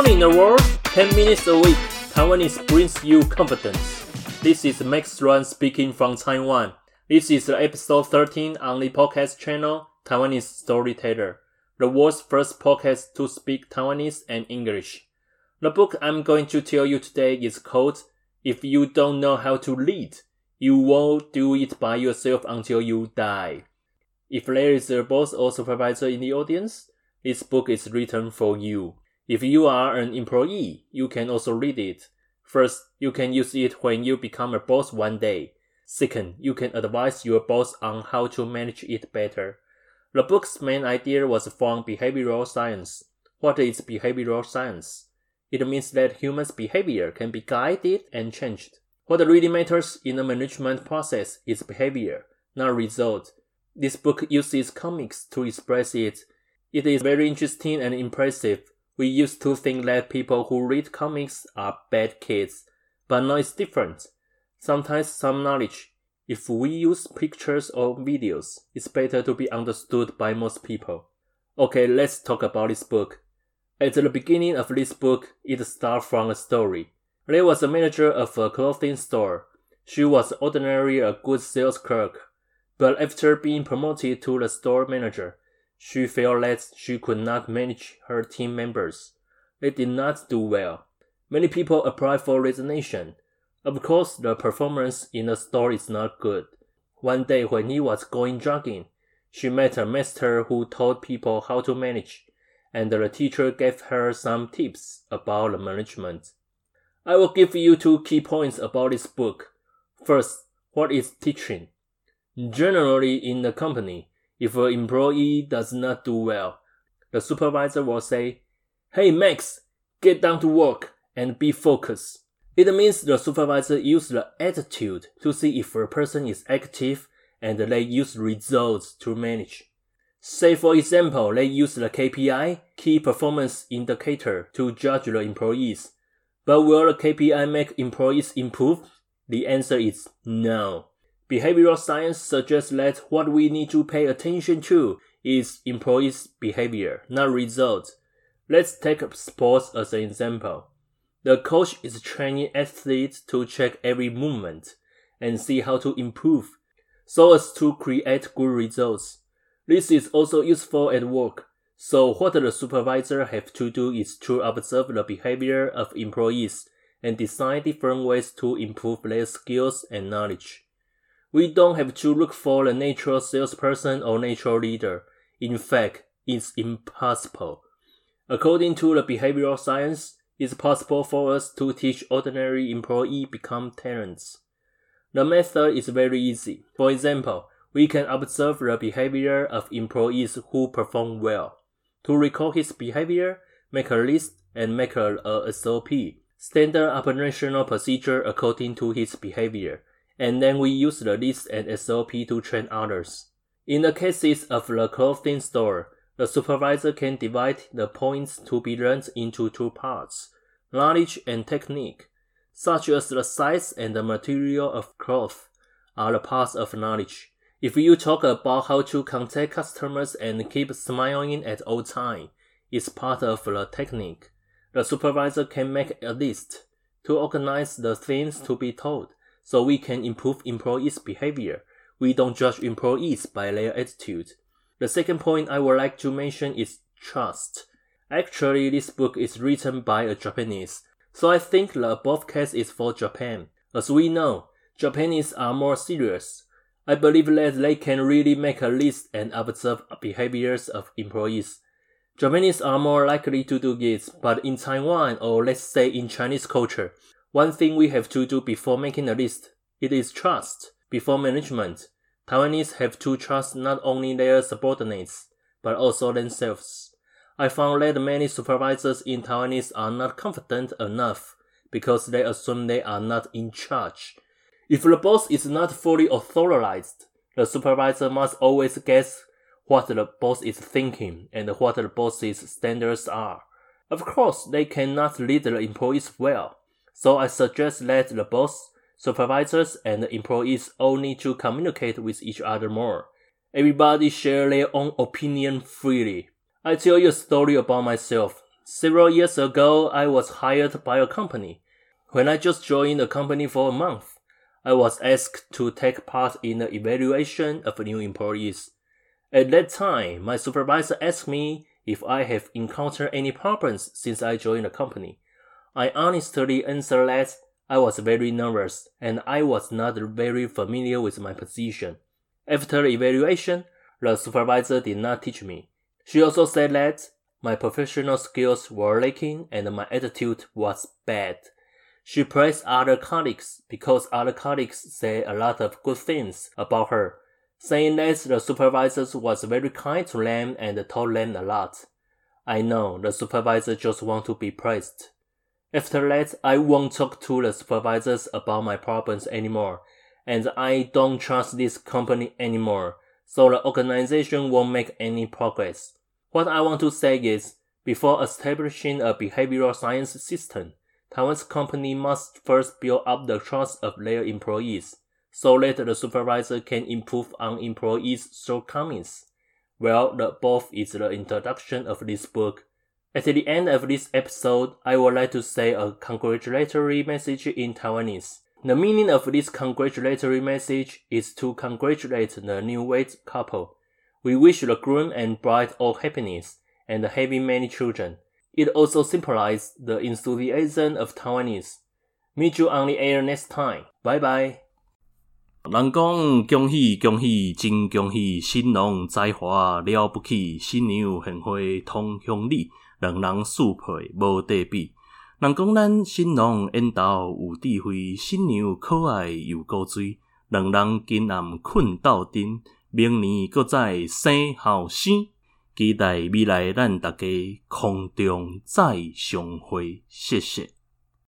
morning the world, 10 minutes a week, Taiwanese brings you confidence. This is Max Ruan speaking from Taiwan. This is episode 13 on the podcast channel, Taiwanese Storyteller, the world's first podcast to speak Taiwanese and English. The book I'm going to tell you today is called If You Don't Know How to Lead, You Won't Do It By Yourself Until You Die. If there is a boss or supervisor in the audience, this book is written for you. If you are an employee, you can also read it. First, you can use it when you become a boss one day. Second, you can advise your boss on how to manage it better. The book's main idea was from behavioral science. What is behavioral science? It means that humans' behavior can be guided and changed. What really matters in the management process is behavior, not result. This book uses comics to express it. It is very interesting and impressive. We used to think that people who read comics are bad kids, but now it's different. Sometimes some knowledge, if we use pictures or videos, it's better to be understood by most people. Okay, let's talk about this book. At the beginning of this book, it starts from a story. There was a manager of a clothing store. She was ordinarily a good sales clerk, but after being promoted to the store manager, she felt that she could not manage her team members. They did not do well. Many people applied for resignation. Of course, the performance in the store is not good. One day when he was going jogging, she met a master who taught people how to manage, and the teacher gave her some tips about the management. I will give you 2 key points about this book. First, what is teaching? Generally in the company, if an employee does not do well, the supervisor will say, "Hey Max, get down to work and be focused." It means the supervisor uses the attitude to see if a person is active and they use results to manage. Say for example, they use the KPI, Key Performance Indicator, to judge the employees. But will the KPI make employees improve? The answer is no. Behavioral science suggests that what we need to pay attention to is employees' behavior, not results. Let's take sports as an example. The coach is training athletes to check every movement and see how to improve so as to create good results. This is also useful at work. So what the supervisor have to do is to observe the behavior of employees and design different ways to improve their skills and knowledge. We don't have to look for a natural salesperson or natural leader. In fact, it's impossible. According to the behavioral science, it's possible for us to teach ordinary employees become talents. The method is very easy. For example, we can observe the behavior of employees who perform well. To recall his behavior, make a list and make a SOP, standard operational procedure according to his behavior. And then we use the list and SOP to train others. In the cases of the clothing store, the supervisor can divide the points to be learned into 2 parts, knowledge and technique, such as the size and the material of cloth are the parts of knowledge. If you talk about how to contact customers and keep smiling at all times, it's part of the technique. The supervisor can make a list to organize the things to be told, so we can improve employees' behavior. We don't judge employees by their attitude. The second point I would like to mention is trust. Actually, this book is written by a Japanese, so I think the above case is for Japan. As we know, Japanese are more serious. I believe that they can really make a list and observe behaviors of employees. Japanese are more likely to do this, but in Taiwan, or let's say in Chinese culture, one thing we have to do before making a list, it is trust. Before management, Taiwanese have to trust not only their subordinates, but also themselves. I found that many supervisors in Taiwanese are not confident enough because they assume they are not in charge. If the boss is not fully authorized, the supervisor must always guess what the boss is thinking and what the boss's standards are. Of course, they cannot lead the employees well. So I suggest that the boss, supervisors, and the employees all need to communicate with each other more. Everybody share their own opinion freely. I tell you a story about myself. Several years ago, I was hired by a company. When I just joined the company for a month, I was asked to take part in the evaluation of new employees. At that time, my supervisor asked me if I have encountered any problems since I joined the company. I honestly answered that I was very nervous and I was not very familiar with my position. After the evaluation, the supervisor did not teach me. She also said that my professional skills were lacking and my attitude was bad. She praised other colleagues because other colleagues said a lot of good things about her, saying that the supervisor was very kind to them and told them a lot. I know the supervisor just wants to be praised. After that, I won't talk to the supervisors about my problems anymore, and I don't trust this company anymore, so the organization won't make any progress. What I want to say is, before establishing a behavioral science system, Taiwan's company must first build up the trust of their employees, so that the supervisor can improve on employees' shortcomings. Well, the above is the introduction of this book. At the end of this episode, I would like to say a congratulatory message in Taiwanese. The meaning of this congratulatory message is to congratulate the newlywed couple. We wish the groom and bride all happiness and having many children. It also symbolizes the enthusiasm of Taiwanese. Meet you on the air next time. Bye bye. 人講恭喜恭喜真恭喜，新郎才華了不起，新娘獻花同鄉里，兩人速配無得比。人講咱新郎緣投有智慧，新娘可愛又古錐，兩人今暗困鬥陣，明年閣再生後生。期待未來咱大家空中再相會，謝謝。